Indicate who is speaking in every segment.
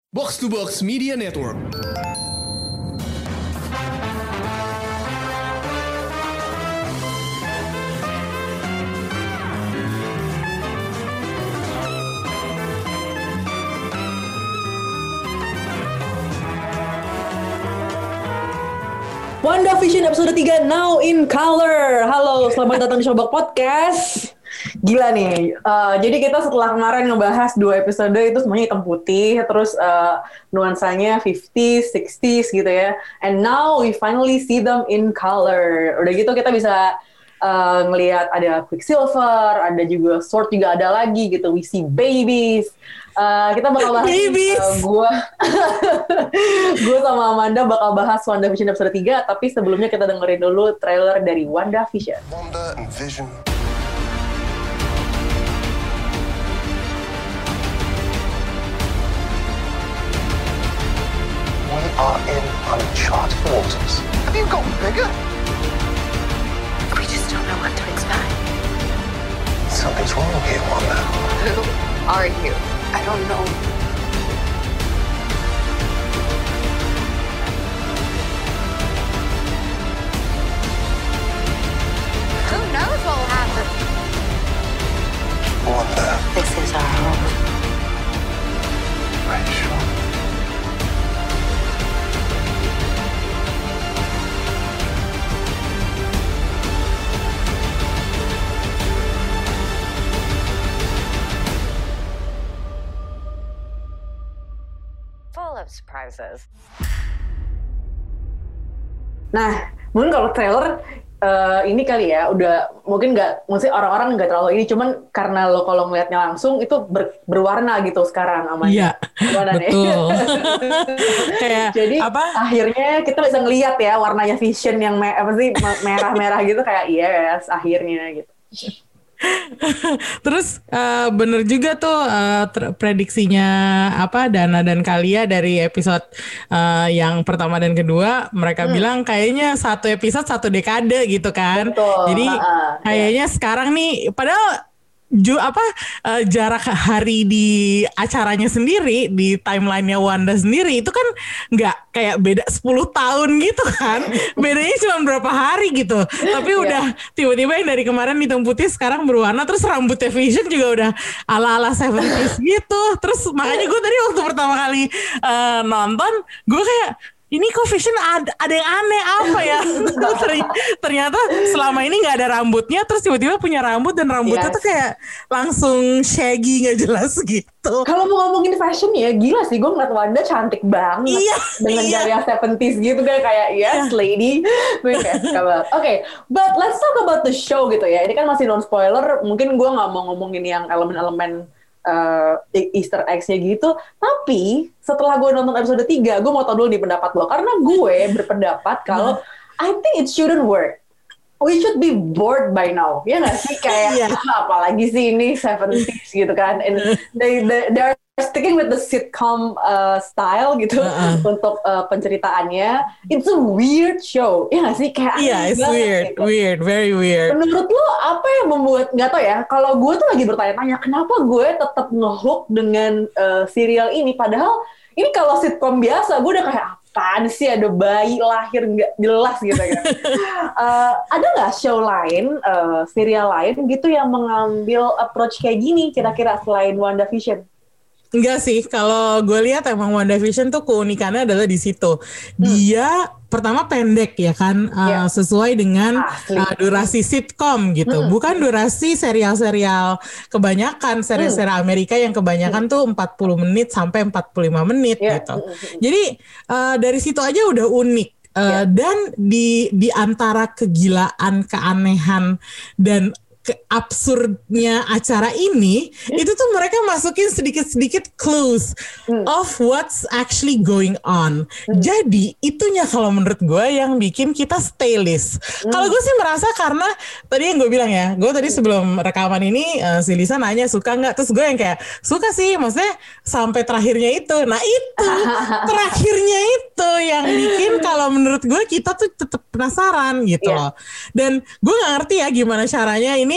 Speaker 1: Box to Box Media Network.
Speaker 2: WandaVision episode 3 now in color. Halo, selamat datang di Showbox Podcast. Gila nih, jadi kita setelah kemarin ngebahas 2 episode itu semuanya hitam putih, terus nuansanya 50s, 60s gitu ya. And now we finally see them in color. Udah gitu kita bisa ngelihat ada Quicksilver, ada juga Sword juga ada lagi gitu. We see babies. Kita bakal bahas gue sama Amanda bakal bahas WandaVision episode 3, tapi sebelumnya kita dengerin dulu trailer dari WandaVision.
Speaker 3: Wanda and Vision. We are in uncharted waters. Have you gotten bigger?
Speaker 4: We just don't know what to expect.
Speaker 3: Something's wrong here, Wanda.
Speaker 4: Who are you? I don't know. Who knows what will happen?
Speaker 3: Wanda.
Speaker 4: This is our home.
Speaker 3: Are you sure?
Speaker 4: Full of surprises.
Speaker 2: Nah, mungkin kalau trailer ini kali ya, udah mungkin nggak, maksudnya orang-orang nggak terlalu ini, cuman karena lo kalau ngeliatnya langsung itu berwarna gitu sekarang Amanda.
Speaker 5: Iya, betul. Kayak
Speaker 2: jadi
Speaker 5: apa?
Speaker 2: akhirnya kita bisa ngeliat ya warnanya Vision yang merah-merah gitu, kayak yes, akhirnya gitu.
Speaker 5: Terus bener juga tuh prediksinya apa Dana dan Kalia dari episode yang pertama dan kedua, mereka bilang kayaknya satu episode 1 dekade gitu kan.
Speaker 2: Betul.
Speaker 5: Jadi kayaknya sekarang nih padahal jarak hari di acaranya sendiri, di timelinenya Wanda sendiri itu kan nggak kayak beda 10 tahun gitu kan, bedanya cuma berapa hari gitu, tapi udah tiba-tiba yang dari kemarin hitam putih sekarang berwarna, terus rambutnya Vision juga udah ala-ala 70s gitu. Terus makanya gue tadi waktu pertama kali nonton, gue kayak ini kok Vision ada yang aneh apa ya. Ternyata selama ini gak ada rambutnya, terus tiba-tiba punya rambut, dan rambutnya tuh kayak langsung shaggy gak jelas gitu.
Speaker 2: Kalau mau ngomongin fashion ya, gila sih, gue ngeliat Wanda cantik banget. Dengan gaya 70s gitu kayak yes lady. Gue kayak suka banget. Okay, but let's talk about the show gitu ya. Ini kan masih non spoiler, mungkin gue gak mau ngomongin yang elemen-elemen Easter eggs-nya gitu. Tapi setelah gue nonton episode 3, gue mau tahu dulu nih pendapat lo, karena gue berpendapat kalau I think it shouldn't work. We should be bored by now, ya nggak sih? Kayak apalagi sih ini 70s gitu kan, and they're sticking with the sitcom style gitu untuk penceritaannya. It's a weird show, ya nggak sih? Kayak
Speaker 5: it's weird, gitu. Weird, very weird.
Speaker 2: Menurut lo apa yang membuat, nggak tau ya, kalau gue tuh lagi bertanya-tanya kenapa gue tetap ngehook dengan serial ini, padahal ini kalau sitcom biasa gue udah kayak apaan sih, ada bayi lahir nggak jelas gitu kan. Ada nggak show lain, serial lain gitu yang mengambil approach kayak gini kira-kira selain WandaVision?
Speaker 5: Enggak sih, kalau gue lihat emang WandaVision tuh keunikannya adalah di situ. Dia pertama pendek ya kan, sesuai dengan durasi sitcom gitu. Bukan durasi serial-serial kebanyakan, serial-serial Amerika yang kebanyakan tuh 40 menit sampai 45 menit gitu. Jadi dari situ aja udah unik. Dan di antara kegilaan, keanehan, dan absurdnya acara ini, itu tuh mereka masukin sedikit-sedikit clues of what's actually going on. Jadi itunya kalau menurut gue yang bikin kita stay list. Kalau gue sih merasa karena tadi yang gue bilang ya, gue tadi sebelum rekaman ini si Lisa nanya suka nggak, terus gue yang kayak suka sih, maksudnya sampai terakhirnya itu. Nah itu terakhirnya itu yang bikin kalau menurut gue kita tuh tetap penasaran gitu loh. Dan gue nggak ngerti ya gimana caranya ini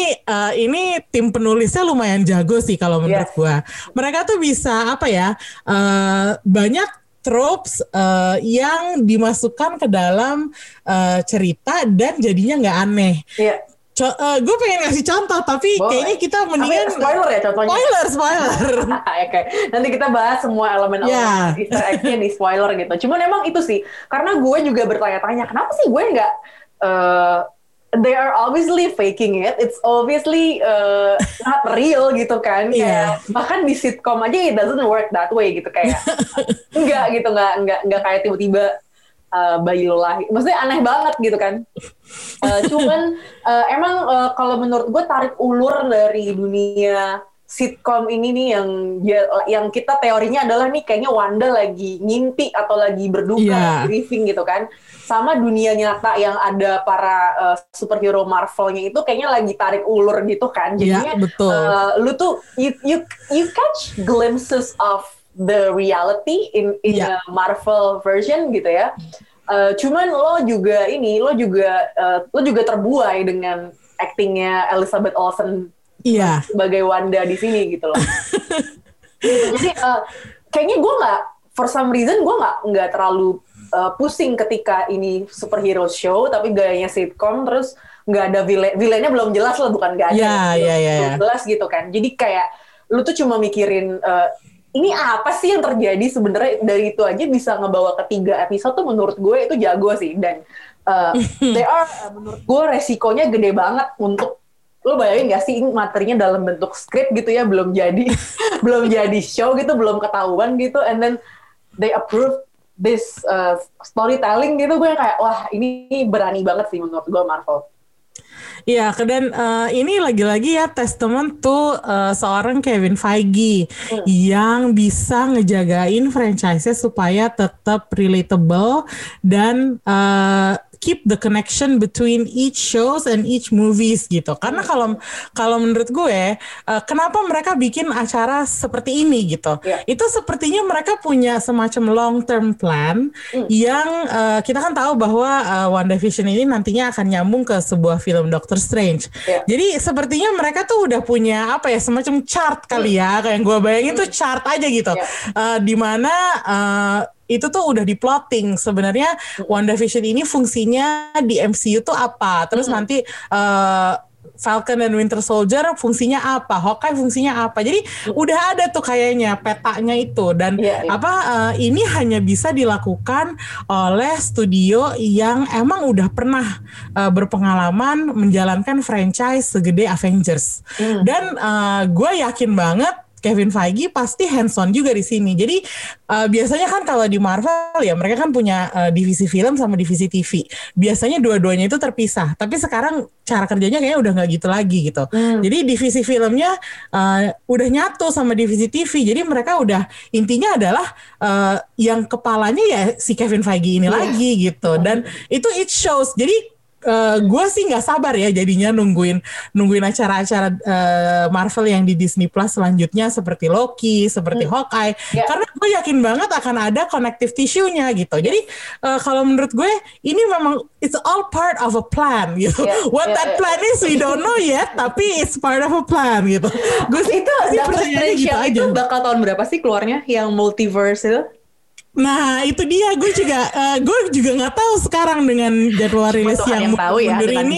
Speaker 5: ini tim penulisnya lumayan jago sih kalau menurut gua. Mereka tuh bisa apa ya? Banyak tropes yang dimasukkan ke dalam cerita dan jadinya nggak aneh. Gue pengen ngasih contoh tapi kayaknya kita mendingan
Speaker 2: spoiler ya contohnya.
Speaker 5: Spoiler.
Speaker 2: Oke. Nanti kita bahas semua elemen-elemen Easter egg-nya di spoiler gitu. Cuman emang itu sih karena gue juga bertanya-tanya kenapa sih gue nggak they are obviously faking it. It's obviously not real gitu kan. Kayak bahkan di sitcom aja it doesn't work that way gitu kayak enggak gitu enggak kayak tiba-tiba bayi lo lahir. Maksudnya aneh banget gitu kan. Cuman emang kalau menurut gue tarik ulur dari dunia sitcom ini nih yang kita teorinya adalah nih kayaknya Wanda lagi ngimpi atau lagi berduka, briefing gitu kan. Sama dunia nyata yang ada para superhero Marvel-nya itu kayaknya lagi tarik ulur gitu kan. Jadinya lu tuh you catch glimpses of the reality in the Marvel version gitu ya. Cuman lo juga terbuai dengan actingnya Elizabeth Olsen sebagai Wanda di sini gitu loh. Jadi kayaknya gue for some reason gue nggak terlalu pusing ketika ini superhero show tapi gayanya sitcom terus nggak ada villainnya belum jelas lah bukan nggak ada belum jelas gitu kan. Jadi kayak lu tuh cuma mikirin ini apa sih yang terjadi sebenarnya dari itu aja bisa ngebawa ke 3 episode tuh menurut gue itu jago sih dan menurut gue resikonya gede banget untuk lo bayangin gak sih materinya dalam bentuk skrip gitu ya belum jadi show gitu belum ketahuan gitu and then they approve this storytelling gitu gue kayak wah ini berani banget sih menurut gue Marvel.
Speaker 5: Iya, dan ini lagi-lagi ya testament tuh seorang Kevin Feige yang bisa ngejagain franchise-nya supaya tetap relatable dan keep the connection between each shows and each movies gitu. Karena kalau menurut gue, kenapa mereka bikin acara seperti ini gitu? Itu sepertinya mereka punya semacam long term plan yang kita kan tahu bahwa WandaVision ini nantinya akan nyambung ke sebuah film Doctor Strange. Jadi sepertinya mereka tuh udah punya apa ya semacam chart kali ya, kayak gue bayangin tuh chart aja gitu, di mana itu tuh udah di-plotting sebenarnya WandaVision ini fungsinya di MCU tuh apa. Terus nanti Falcon dan Winter Soldier fungsinya apa, Hawkeye fungsinya apa. Jadi udah ada tuh kayaknya petanya itu dan ini hanya bisa dilakukan oleh studio yang emang udah pernah berpengalaman menjalankan franchise segede Avengers. Dan gue yakin banget Kevin Feige pasti hands on juga di sini. Jadi biasanya kan kalau di Marvel ya mereka kan punya divisi film sama divisi TV. Biasanya dua-duanya itu terpisah. Tapi sekarang cara kerjanya kayaknya udah nggak gitu lagi gitu. Jadi divisi filmnya udah nyatu sama divisi TV. Jadi mereka udah intinya adalah yang kepalanya ya si Kevin Feige ini lagi gitu. Dan itu it shows. Jadi gue sih nggak sabar ya jadinya nungguin acara-acara Marvel yang di Disney Plus selanjutnya seperti Loki, seperti Hawkeye, karena gue yakin banget akan ada connective tissue-nya gitu. Jadi kalau menurut gue ini memang it's all part of a plan gitu. What that plan is we don't know yet, tapi it's part of a plan gitu. Gue sih
Speaker 2: itu Doctor Strange gitu itu bakal tahun berapa sih keluarnya yang multiverse itu?
Speaker 5: Nah itu dia, gue juga nggak tahu sekarang dengan jadwal rilis yang mundur ini.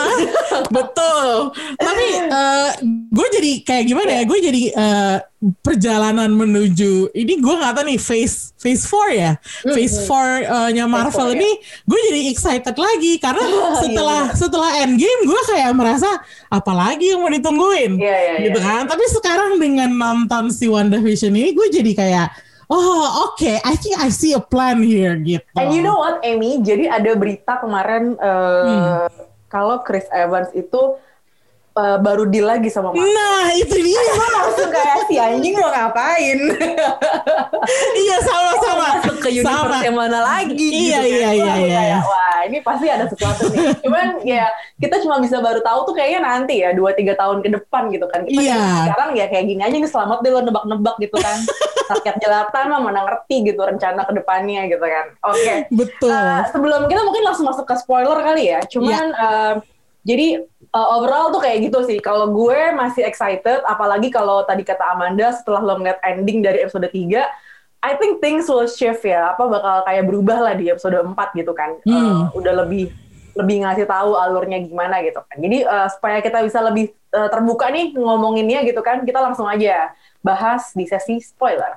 Speaker 5: Betul. Tapi gue jadi kayak gimana ya? Gue jadi perjalanan menuju ini gue nggak tahu nih phase 4 ya, phase 4-nya Marvel ini, gue jadi excited lagi karena setelah Endgame gue kayak merasa apalagi yang mau ditungguin, gitu kan. Tapi sekarang dengan nonton si WandaVision ini, gue jadi kayak okay, I think I see a plan here gitu.
Speaker 2: And you know what, Amy? Jadi ada berita kemarin kalau Chris Evans itu baru deal lagi sama Marvel.
Speaker 5: Nah, itu dia.
Speaker 2: Gue langsung kayak si anjing lo ngapain?
Speaker 5: Iya, sama-sama.
Speaker 2: Masuk ke universe yang mana lagi?
Speaker 5: Iya.
Speaker 2: Wah, ini pasti ada sesuatu nih. Cuman ya kita cuma bisa baru tahu tuh kayaknya nanti ya 2-3 tahun ke depan gitu kan. Kita sekarang ya kayak gini aja nih, selamat deh lo nebak-nebak gitu kan. Rakyat jelatan mah mana ngerti gitu rencana ke depannya gitu kan. Oke.
Speaker 5: Betul.
Speaker 2: Sebelum kita mungkin langsung masuk ke spoiler kali ya. Cuman Jadi overall tuh kayak gitu sih. Kalau gue masih excited, apalagi kalau tadi kata Amanda setelah lo ngeliat ending dari episode 3, I think things will shift ya. Bakal kayak berubah lah di episode 4 gitu kan. Udah lebih ngasih tahu alurnya gimana gitu kan. Jadi supaya kita bisa lebih terbuka nih ngomonginnya gitu kan, kita langsung aja bahas di sesi spoiler.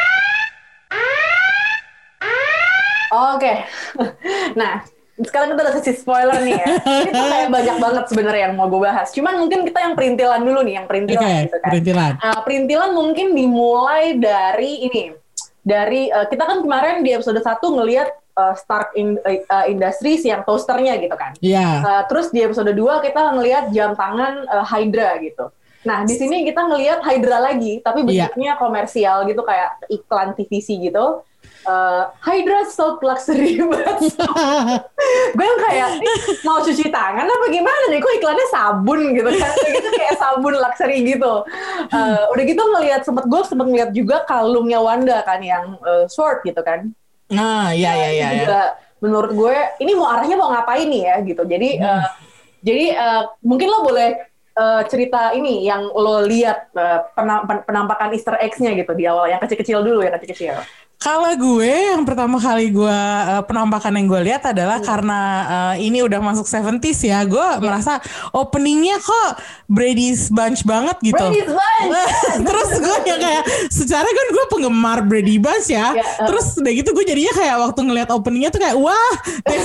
Speaker 2: Oke. Nah, sekarang kita udah sesi spoiler nih ya. Ini tuh kayak banyak banget sebenarnya yang mau gue bahas. Cuman mungkin kita yang perintilan dulu nih, yang perintilan gitu kan. Perintilan mungkin dimulai dari ini. Kita kan kemarin di episode 1 ngelihat Stark Industries yang toasternya gitu kan.
Speaker 5: Iya.
Speaker 2: Terus di episode 2 kita ngelihat jam tangan Hydra gitu. Nah, di sini kita ngelihat Hydra lagi, tapi bentuknya komersial gitu, kayak iklan TVC gitu. Hydra soap luxury banget. Gue yang kayak mau cuci tangan apa gimana nih? Kok iklannya sabun gitu kan? Gitu kayak sabun luxury gitu. Udah gitu gue sempet ngeliat juga kalungnya Wanda kan yang sword gitu kan.
Speaker 5: Nah, iya.
Speaker 2: Juga menurut gue ini arahnya mau ngapain nih ya gitu. Jadi mungkin lo boleh cerita ini yang lo lihat penampakan Easter eggs-nya gitu di awal, yang kecil-kecil dulu ya, kecil-kecil.
Speaker 5: Kalau gue yang pertama kali gue penampakan yang gue lihat adalah karena ini udah masuk 70s ya, gue merasa openingnya kok Brady's Bunch banget gitu.
Speaker 2: Brady's Bunch.
Speaker 5: Terus gue yang kayak secara kan gue penggemar Brady Bunch ya. Terus udah gitu gue jadinya kayak waktu ngeliat openingnya tuh kayak wah, they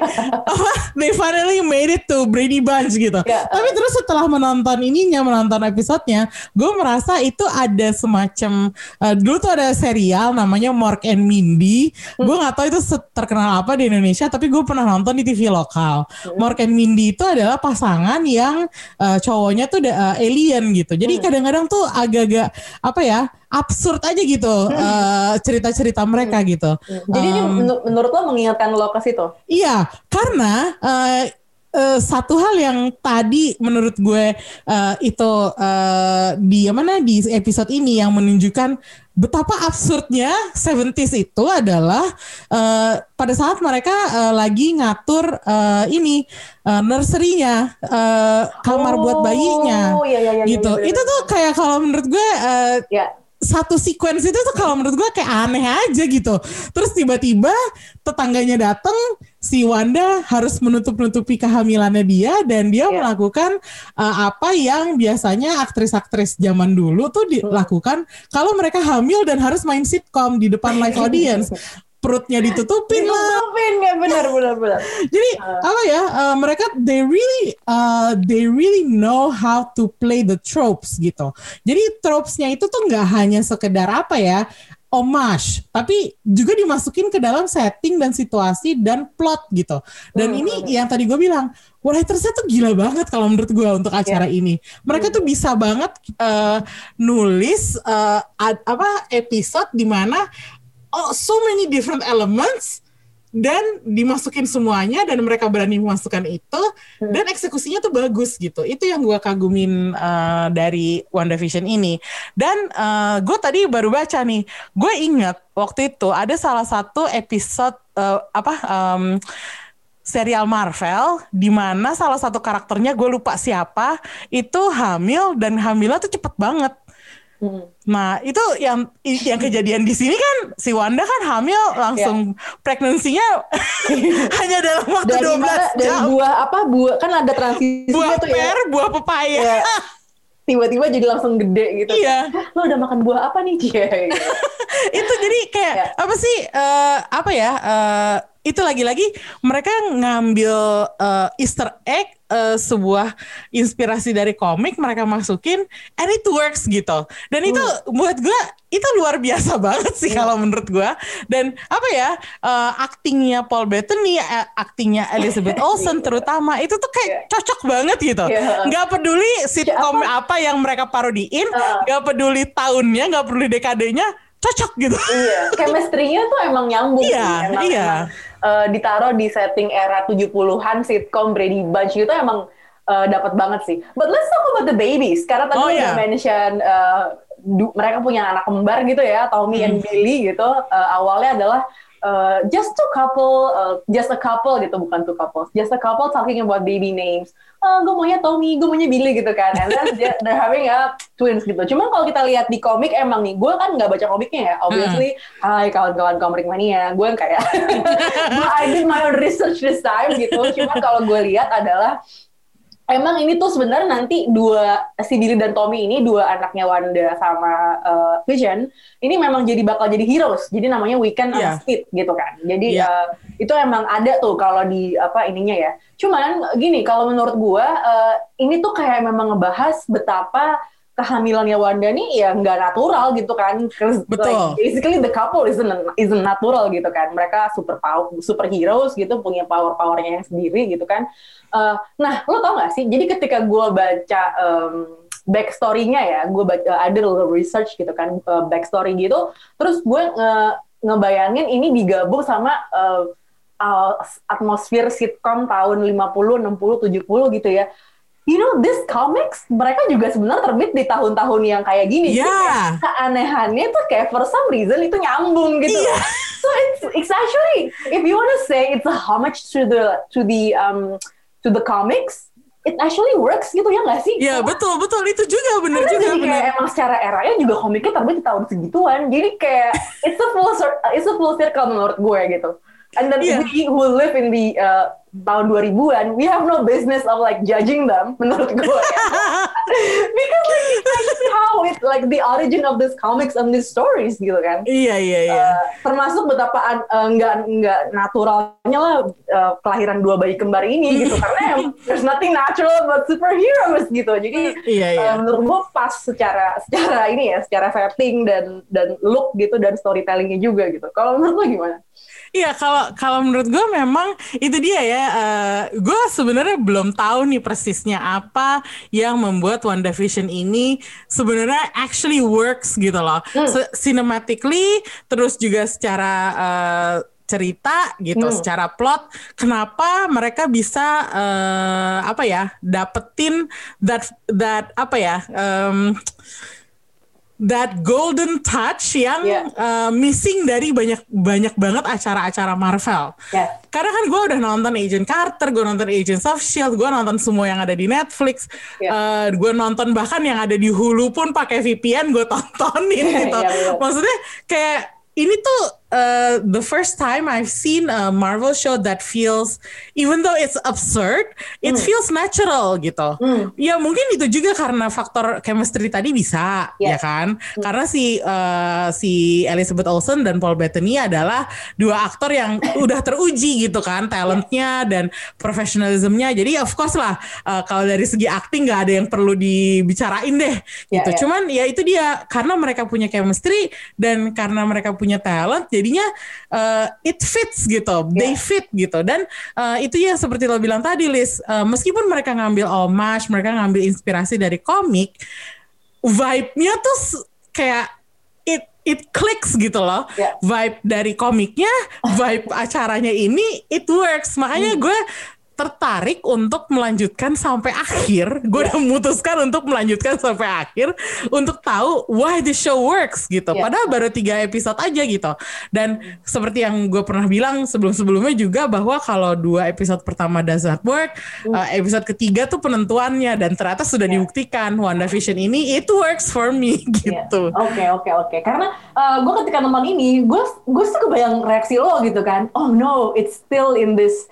Speaker 5: finally made it to Brady Bunch gitu. Tapi terus setelah menonton episodenya, gue merasa itu ada semacam dulu tuh ada serial namanya Mork and Mindy. Gue gak tahu itu terkenal apa di Indonesia, tapi gue pernah nonton di TV lokal. Mork and Mindy itu adalah pasangan yang cowoknya tuh alien gitu. Jadi kadang-kadang tuh agak-agak absurd aja gitu cerita-cerita mereka gitu.
Speaker 2: Jadi ini menurut lo mengingatkan lo ke situ? Iya,
Speaker 5: karena satu hal yang tadi menurut gue itu di episode ini yang menunjukkan betapa absurdnya 70s itu adalah pada saat mereka lagi ngatur nursery-nya, kamar buat bayinya gitu. Itu tuh kayak kalau menurut gue satu sequence itu tuh kalau menurut gue kayak aneh aja gitu. Terus tiba-tiba tetangganya datang, si Wanda harus menutup-nutupi kehamilannya dia, dan dia melakukan apa yang biasanya aktris-aktris zaman dulu tuh dilakukan kalau mereka hamil dan harus main sitcom di depan live audience. Perutnya ditutupin
Speaker 2: ya, benar.
Speaker 5: Jadi mereka they really know how to play the tropes gitu. Jadi tropesnya itu tuh nggak hanya sekedar homage, tapi juga dimasukin ke dalam setting dan situasi dan plot gitu. Dan ini yang tadi gue bilang, writersnya tuh gila banget kalau menurut gue untuk acara ini. Mereka tuh bisa banget nulis episode di mana so many different elements dan dimasukin semuanya, dan mereka berani memasukkan itu dan eksekusinya tuh bagus gitu. Itu yang gue kagumin dari WandaVision ini. Dan gue tadi baru baca nih, gue ingat waktu itu ada salah satu episode serial Marvel di mana salah satu karakternya, gue lupa siapa, itu hamil dan hamilnya tuh cepet banget. Nah itu yang kejadian di sini kan, si Wanda kan hamil langsung pregnancy-nya hanya dalam waktu 12 jam.
Speaker 2: Dari buah kan ada transisinya tuh ya. Buah pepaya. Tiba-tiba jadi langsung gede gitu.
Speaker 5: Iya.
Speaker 2: Lo udah makan buah apa nih dia?
Speaker 5: Itu jadi kayak itu lagi-lagi mereka ngambil Easter egg, sebuah inspirasi dari komik, mereka masukin and it works gitu. Dan itu buat gue itu luar biasa banget sih kalau menurut gue. Dan aktingnya Paul Bettany, aktingnya Elizabeth Olsen terutama, itu tuh kayak cocok banget gitu. Nggak peduli sitcom apa yang mereka parodiin, nggak peduli tahunnya, nggak peduli dekadenya, cocok gitu.
Speaker 2: Iya, chemistry-nya tuh emang nyambung.
Speaker 5: Iya.
Speaker 2: Ditaruh di setting era 70-an sitcom Brady Bunch itu emang dapat banget sih. But let's talk about the babies. Karena tadi udah mention mereka punya anak kembar gitu ya, Tommy and Billy gitu. Awalnya adalah just a couple gitu, bukan two couples, just a couple talking about baby names. Gue maunya Tommy, gue maunya Billy gitu kan, and then they're having a twins gitu. Cuman kalau kita lihat di komik emang nih, gue kan nggak baca komiknya ya, obviously. Hai kawan-kawan komik mania, gue kayak I did my own research this time gitu. Cuman kalau gue lihat adalah emang ini tuh sebenarnya nanti si Billy dan Tommy ini, dua anaknya Wanda sama Vision, ini memang bakal jadi heroes. Jadi namanya Wiccan sama Speed gitu kan. Jadi itu emang ada tuh kalau di ininya ya. Cuman gini, kalau menurut gue ini tuh kayak memang ngebahas betapa kehamilannya Wanda nih ya nggak natural gitu kan.
Speaker 5: Betul.
Speaker 2: Like, basically the couple isn't natural gitu kan. Mereka super heroes gitu, punya powernya yang sendiri gitu kan. Nah, lo tau gak sih? Jadi ketika gue baca backstory-nya ya, gue ada little research gitu kan, backstory gitu. Terus gue ngebayangin ini digabung sama atmosfer sitcom tahun 50, 60, 70 gitu ya. You know, this comics, mereka juga sebenarnya terbit di tahun-tahun yang kayak gini.
Speaker 5: Yeah.
Speaker 2: Keanehannya tuh kayak for some reason itu nyambung gitu. Yeah. So it's actually, if you want to say it's a homage to the comics, it actually works gitu ya nggak sih?
Speaker 5: Iya betul itu juga benar juga.
Speaker 2: Jadi kayak emang secara eranya juga komiknya terbit di tahun segituan. Jadi kayak it's a full circle menurut gue gitu. And then we who live in the tahun 2000-an, we have no business of like judging them menurut gue. Because like it's actually how it like the origin of this comics and these stories gitu kan.
Speaker 5: Iya.
Speaker 2: Termasuk betapa nggak naturalnya lah kelahiran dua bayi kembar ini gitu, karena there's nothing natural about superheroes gitu. Jadi menurut gue pas secara ini ya, secara setting dan look gitu dan storytellingnya juga gitu. Kalau menurut lo gimana?
Speaker 5: Iya, kalau menurut gue memang itu dia ya. Gue sebenarnya belum tahu nih persisnya apa yang membuat WandaVision ini sebenarnya actually works gitu loh. Cinematically, terus juga secara cerita gitu, secara plot, kenapa mereka bisa dapetin that golden touch yang missing dari banyak banget acara-acara Marvel. Karena kan gue udah nonton Agent Carter, gue nonton Agents of S.H.I.E.L.D., gue nonton semua yang ada di Netflix, gue nonton bahkan yang ada di Hulu pun pakai VPN gue tontonin gitu. Maksudnya kayak ini tuh the first time I've seen a Marvel show that feels, even though it's absurd, it feels natural gitu. Ya mungkin itu juga karena faktor chemistry tadi bisa, ya kan? Karena si Elizabeth Olsen dan Paul Bettany adalah dua aktor yang udah teruji gitu kan, talentnya dan professionalismnya. Jadi of course lah, kalau dari segi acting nggak ada yang perlu dibicarain deh gitu. Cuman ya itu dia, karena mereka punya chemistry dan karena mereka punya talent, jadinya it fits gitu, they fit gitu. Dan itu ya seperti lo bilang tadi Liz, meskipun mereka ngambil homage, mereka ngambil inspirasi dari komik, vibe-nya tuh kayak it clicks gitu loh. Vibe dari komiknya, vibe acaranya ini it works. Makanya gue tertarik untuk melanjutkan sampai akhir. Gue udah memutuskan untuk melanjutkan sampai akhir untuk tahu why the show works gitu. Padahal baru 3 episode aja gitu. Dan seperti yang gue pernah bilang sebelum-sebelumnya juga, bahwa kalau 2 episode pertama does not work, episode ketiga tuh penentuannya, dan ternyata sudah dibuktikan WandaVision ini it works for me gitu.
Speaker 2: Oke. Karena gue ketika nonton ini, gue tuh kebayang reaksi lo gitu kan. Oh no, it's still in this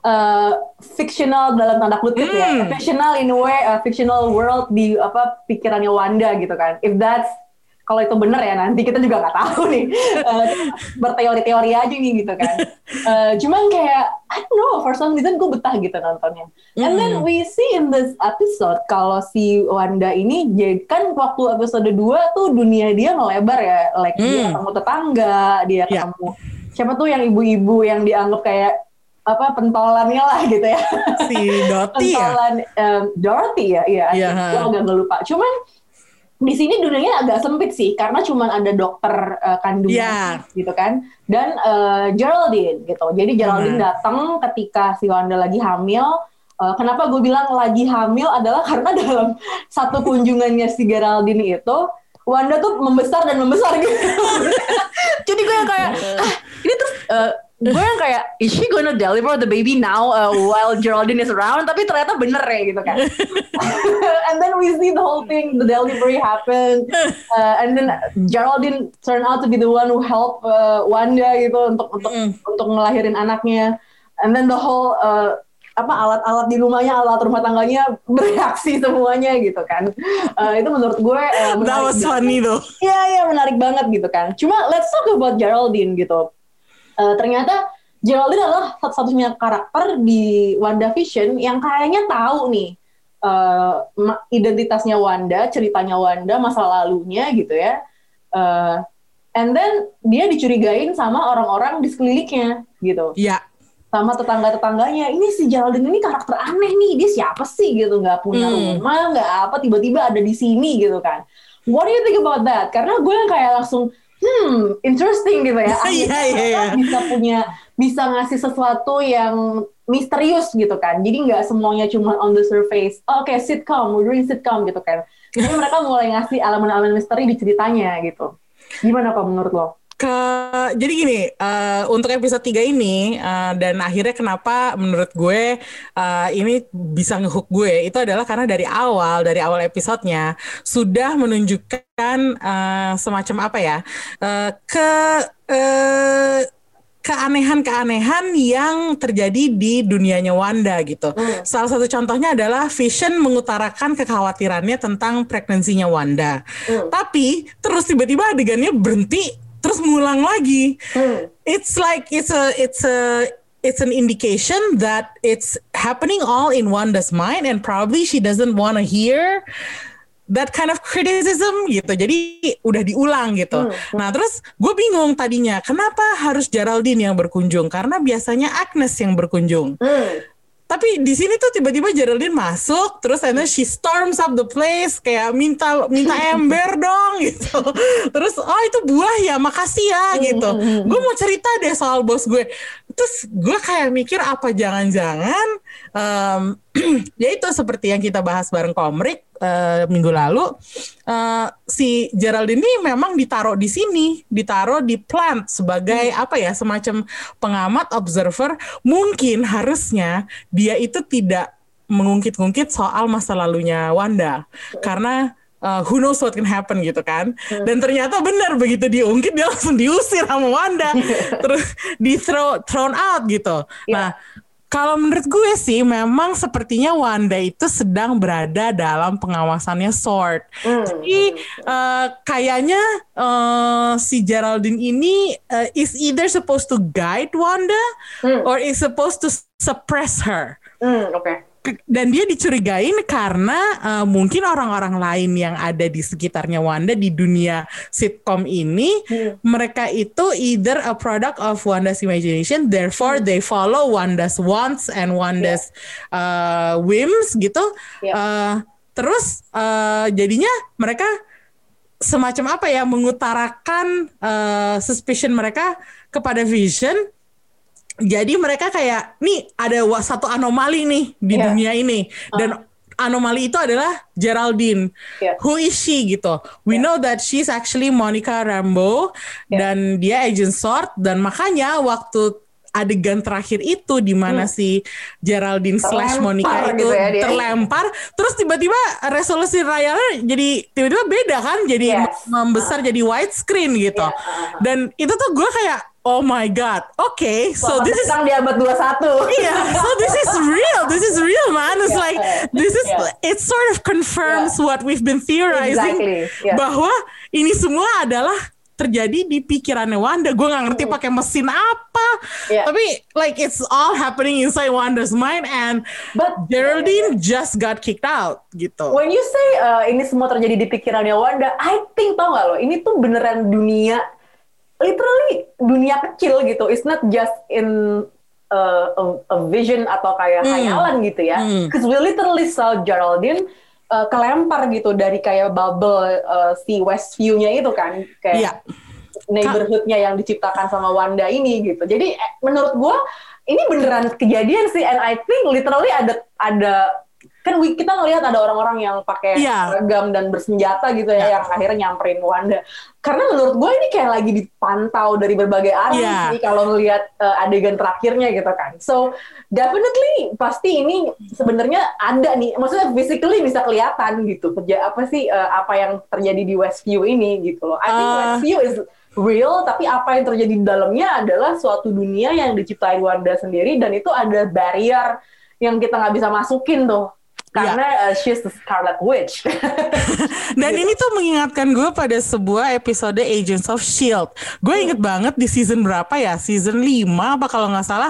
Speaker 2: fictional dalam tanda kutip ya, fictional in a way, fictional world di pikirannya Wanda gitu kan. If that's, kalau itu benar ya, nanti kita juga nggak tahu nih, berteori-teori aja nih gitu kan. Cuman kayak I don't know, for some reason gue betah gitu nontonnya. And then we see in this episode kalau si Wanda ini, kan waktu episode 2 tuh dunia dia ngelebar ya, like dia ketemu tetangga, dia ketemu siapa tuh yang ibu-ibu yang dianggap kayak pentolannya lah gitu ya,
Speaker 5: si Dorothy
Speaker 2: Dorothy ya, gue agak lupa. Cuman di sini dunianya agak sempit sih, karena cuman ada dokter kandungan gitu kan, dan Geraldine gitu. Jadi Geraldine datang ketika si Wanda lagi hamil. Kenapa gue bilang lagi hamil adalah karena dalam satu kunjungannya si Geraldine itu, Wanda tuh membesar dan membesar gitu. Jadi gue kayak ini terus gue yang kayak, is she gonna deliver the baby now while Geraldine is around? Tapi ternyata bener ya gitu kan. And then we see the whole thing, the delivery happen, and then Geraldine turn out to be the one who help Wanda gitu untuk ngelahirin anaknya. And then the whole alat-alat di rumahnya, alat rumah tangganya bereaksi semuanya gitu kan. Itu menurut gue
Speaker 5: that was funny though.
Speaker 2: Iya menarik banget gitu kan. Cuma let's talk about Geraldine gitu. Ternyata Geraldine adalah satu-satunya karakter di WandaVision yang kayaknya tahu nih identitasnya Wanda, ceritanya Wanda, masa lalunya gitu ya. And then dia dicurigain sama orang-orang di sekelilingnya gitu.
Speaker 5: Iya.
Speaker 2: Sama tetangga-tetangganya, ini si Geraldine ini karakter aneh nih, dia siapa sih gitu, nggak punya rumah, nggak apa, tiba-tiba ada di sini gitu kan. What do you think about that? Karena gue yang kayak langsung interesting gitu ya. Bisa ngasih sesuatu yang misterius gitu kan. Jadi nggak semuanya cuma on the surface. Oke, sitcom, we're doing sitcom gitu kan. Jadi mereka mulai ngasih elemen-elemen misteri di ceritanya gitu. Gimana kok menurut lo?
Speaker 5: Jadi gini, untuk episode 3 ini dan akhirnya kenapa menurut gue ini bisa ngehook gue, itu adalah karena dari awal episodenya sudah menunjukkan semacam apa ya, keanehan-keanehan yang terjadi di dunianya Wanda gitu. Salah satu contohnya adalah Vision mengutarakan kekhawatirannya tentang pregnancy-nya Wanda. Tapi terus tiba-tiba adegannya berhenti terus ngulang lagi. It's like it's an indication that it's happening all in Wanda's mind and probably she doesn't want to hear that kind of criticism gitu. Jadi udah diulang gitu. Nah, terus gue bingung tadinya kenapa harus Geraldine yang berkunjung? Karena biasanya Agnes yang berkunjung. Tapi di sini tuh tiba-tiba Geraldine masuk, terus and then she storms up the place, kayak minta ember dong gitu. Terus itu buah ya, makasih ya gitu. Gue mau cerita deh soal bos gue. Terus gue kayak mikir apa jangan-jangan ya itu seperti yang kita bahas bareng Komrik minggu lalu, si Geraldine ini memang ditaruh di sini, ditaruh di plant sebagai apa ya, semacam pengamat, observer. Mungkin harusnya dia itu tidak mengungkit-ungkit soal masa lalunya Wanda, karena who knows what can happen gitu kan. Dan ternyata benar, begitu diungkit dia langsung diusir sama Wanda, terus thrown out gitu. Nah, kalau menurut gue sih memang sepertinya Wanda itu sedang berada dalam pengawasannya SWORD. Jadi kayaknya si Geraldine ini is either supposed to guide Wanda or is supposed to suppress her.
Speaker 2: Oke.
Speaker 5: Dan dia dicurigain karena mungkin orang-orang lain yang ada di sekitarnya Wanda di dunia sitcom ini, mereka itu either a product of Wanda's imagination, therefore they follow Wanda's wants and Wanda's whims gitu. Terus jadinya mereka semacam apa ya, mengutarakan suspicion mereka kepada Vision. Jadi mereka kayak, nih ada satu anomali nih di dunia ini. Dan anomali itu adalah Geraldine. Who is she gitu. We know that she's actually Monica Rambeau. Dan dia Agent SWORD. Dan makanya waktu adegan terakhir itu di mana si Geraldine / Monica itu gitu ya, terlempar, terus tiba-tiba resolusi layarnya jadi tiba-tiba beda kan, jadi membesar jadi widescreen gitu. Dan itu tuh gue kayak, oh my god, okay, so this is
Speaker 2: di abad 21.
Speaker 5: So this is real man. It's like it sort of confirms what we've been theorizing, bahwa ini semua adalah terjadi di pikirannya Wanda. Gue gak ngerti pakai mesin apa, tapi like it's all happening inside Wanda's mind, and Geraldine just got kicked out gitu.
Speaker 2: When you say ini semua terjadi di pikirannya Wanda, I think, tau gak lo, ini tuh beneran dunia, literally dunia kecil gitu. It's not just in a vision atau kayak khayalan gitu ya. Because we literally saw Geraldine kelempar gitu dari kayak bubble si Westview-nya itu kan, kayak neighborhood-nya yang diciptakan sama Wanda ini gitu. Jadi menurut gue ini beneran kejadian sih, and I think literally ada kan kita ngelihat ada orang-orang yang pakai seragam dan bersenjata gitu ya, yang akhirnya nyamperin Wanda. Karena menurut gue ini kayak lagi dipantau dari berbagai arah sih kalau ngelihat adegan terakhirnya gitu kan. So definitely pasti ini sebenarnya ada nih, maksudnya physically bisa kelihatan gitu apa yang terjadi di Westview ini gitu loh. I think Westview is real, tapi apa yang terjadi di dalamnya adalah suatu dunia yang diciptain Wanda sendiri, dan itu ada barrier yang kita nggak bisa masukin tuh. Karena she's the Scarlet Witch.
Speaker 5: Dan ini tuh mengingatkan gue pada sebuah episode Agents of S.H.I.E.L.D. Gue inget banget di season berapa ya? Season 5 apa kalau nggak salah.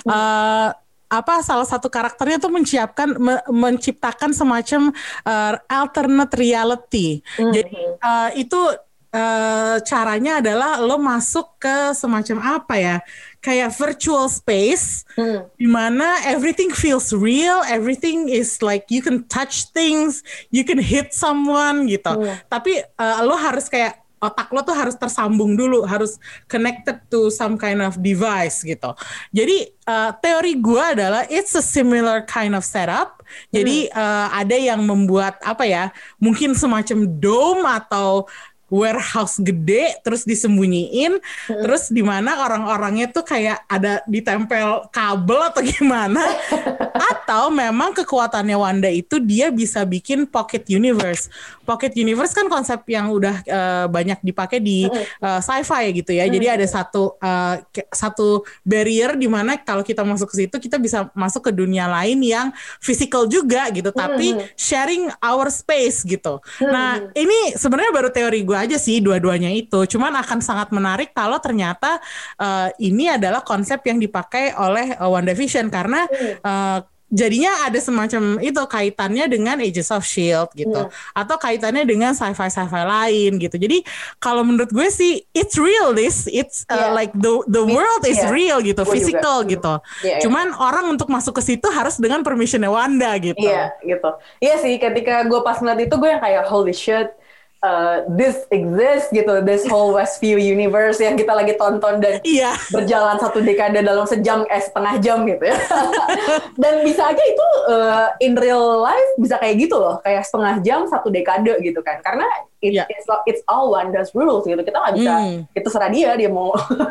Speaker 5: Salah satu karakternya tuh menciptakan semacam alternate reality. Jadi itu caranya adalah lo masuk ke semacam apa ya, kayak virtual space di mana everything feels real, everything is like you can touch things, you can hit someone gitu. Tapi lo harus kayak otak lo tuh harus tersambung dulu, harus connected to some kind of device gitu. Jadi teori gue adalah it's a similar kind of setup. Jadi ada yang membuat apa ya, mungkin semacam dome atau warehouse gede terus disembunyiin, terus di mana orang-orangnya tuh kayak ada ditempel kabel atau gimana, atau memang kekuatannya Wanda itu dia bisa bikin pocket universe. Pocket universe kan konsep yang udah banyak dipakai di sci-fi gitu ya. Jadi ada satu barrier di mana kalau kita masuk ke situ kita bisa masuk ke dunia lain yang physical juga gitu, tapi sharing our space gitu. Nah, ini sebenarnya baru teori gue aja sih dua-duanya itu. Cuman akan sangat menarik kalau ternyata ini adalah konsep yang dipakai oleh WandaVision, karena jadinya ada semacam itu kaitannya dengan Agents of S.H.I.E.L.D. gitu, atau kaitannya dengan sci-fi lain gitu. Jadi kalau menurut gue sih it's real, it's like the world is real gitu, physical gitu. Cuman orang untuk masuk ke situ harus dengan permissionnya Wanda gitu.
Speaker 2: Iya gitu. Iya sih, ketika gue pas ngeliat itu gue yang kayak holy shit. This exists gitu, this whole Westview universe yang kita lagi tonton dan berjalan 1 dekade dalam setengah jam gitu ya. Dan bisa aja itu in real life bisa kayak gitu loh, kayak setengah jam 1 dekade gitu kan, karena it's all Wanda's rules gitu. Kita nggak bisa, itu serah dia mau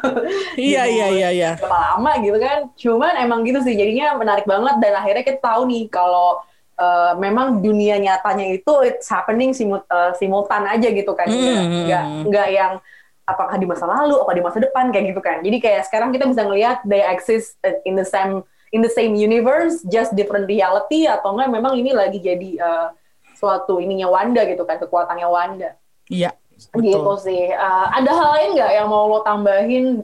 Speaker 2: berapa lama gitu kan. Cuman emang gitu sih, jadinya menarik banget, dan akhirnya kita tahu nih kalau memang dunia nyatanya itu it's happening simultan aja gitu kan, nggak yang apakah di masa lalu, apa di masa depan kayak gitu kan. Jadi kayak sekarang kita bisa ngelihat they exist in the same universe, just different reality, atau enggak memang ini lagi jadi suatu ininya Wanda gitu kan, kekuatannya Wanda.
Speaker 5: Iya.
Speaker 2: Gitu sih. Ada hal lain nggak yang mau lo tambahin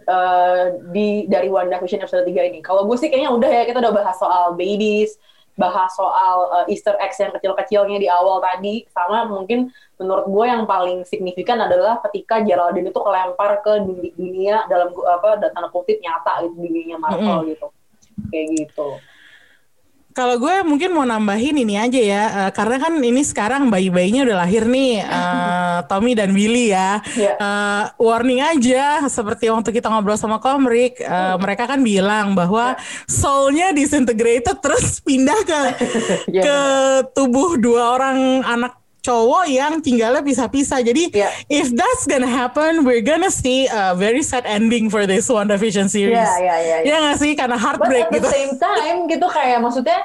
Speaker 2: dari WandaVision episode 3 ini? Kalau gue sih kayaknya udah ya, kita udah bahas soal babies, bahas soal Easter eggs yang kecil-kecilnya di awal tadi, sama mungkin menurut gue yang paling signifikan adalah ketika Geraldine itu kelempar ke dunia dalam tanda kutip nyata gitu, dunianya Marvel gitu, kayak gitu.
Speaker 5: Kalau gue mungkin mau nambahin ini aja ya, karena kan ini sekarang bayi-bayinya udah lahir nih, Tommy dan Willy ya. Warning aja, seperti waktu kita ngobrol sama Komrik, mereka kan bilang bahwa soul-nya disintegrated terus pindah ke tubuh 2 orang anak cowok yang tinggalnya pisah-pisah. Jadi if that's gonna happen, we're gonna see a very sad ending for this WandaVision series. Ya nggak sih, karena heartbreak gitu.
Speaker 2: But at the same time gitu, kayak maksudnya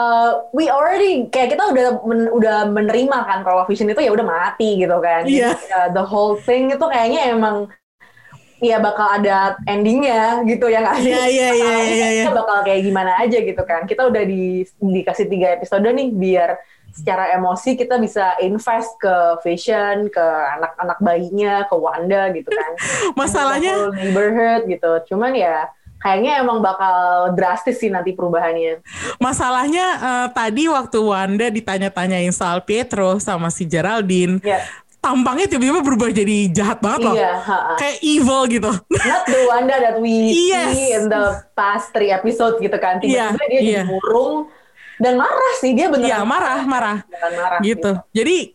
Speaker 2: we already kayak kita udah menerima kan kalau Vision itu ya udah mati gitu kan. The whole thing itu kayaknya emang bakal ada endingnya gitu ya nggak sih? Kita bakal kayak gimana aja gitu kan. Kita udah dikasih 3 episode nih biar secara emosi kita bisa invest ke Vision, ke anak-anak bayinya, ke Wanda gitu kan.
Speaker 5: Masalahnya
Speaker 2: neighborhood gitu. Cuman ya kayaknya emang bakal drastis sih nanti perubahannya.
Speaker 5: Masalahnya tadi waktu Wanda ditanya-tanyain soal Pietro sama si Geraldine, tampangnya tiba-tiba berubah jadi jahat banget loh. Kayak evil gitu.
Speaker 2: Not the Wanda that we see in the past 3 episodes gitu kan. Tiba-tiba dia jadi murung. Dan marah sih, dia beneran
Speaker 5: marah gitu. Jadi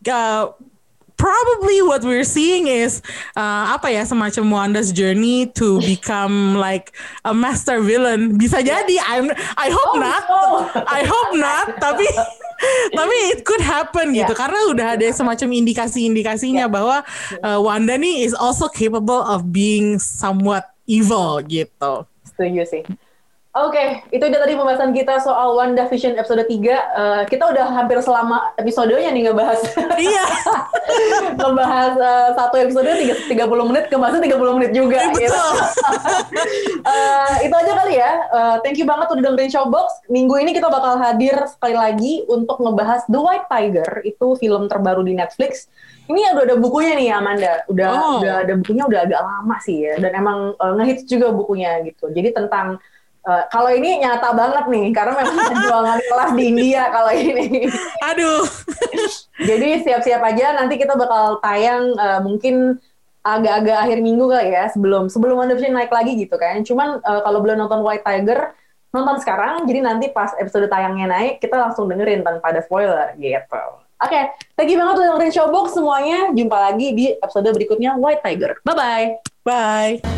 Speaker 5: probably what we're seeing is semacam Wanda's journey to become like a master villain. Bisa jadi, I hope not. I hope not. Tapi it could happen gitu karena udah ada semacam indikasi-indikasinya bahwa Wanda nih is also capable of being somewhat evil gitu.
Speaker 2: Setuju sih. Oke, itu dia tadi pembahasan kita soal WandaVision episode 3. Kita udah hampir selama episodenya nih ngebahas.
Speaker 5: Iya.
Speaker 2: Ngebahas satu episode 30 menit, kebahasnya 30 menit juga.
Speaker 5: Betul.
Speaker 2: Gitu. Itu aja kali ya. Thank you banget udah dengerin Showbox. Minggu ini kita bakal hadir sekali lagi untuk ngebahas The White Tiger. Itu film terbaru di Netflix. Ini udah ada bukunya nih Amanda. Udah ada bukunya, udah agak lama sih ya. Dan emang ngehits juga bukunya gitu. Jadi tentang kalau ini nyata banget nih, karena memang perjuangan kelas di India kalau ini.
Speaker 5: Aduh.
Speaker 2: Jadi siap-siap aja, nanti kita bakal tayang mungkin agak-agak akhir minggu kali ya, sebelum WandaVision naik lagi gitu kan. Cuman kalau belum nonton White Tiger, nonton sekarang, jadi nanti pas episode tayangnya naik, kita langsung dengerin tanpa ada spoiler gitu. Oke, thank you banget udah dengerin Showbox semuanya. Jumpa lagi di episode berikutnya White Tiger. Bye-bye.
Speaker 5: Bye.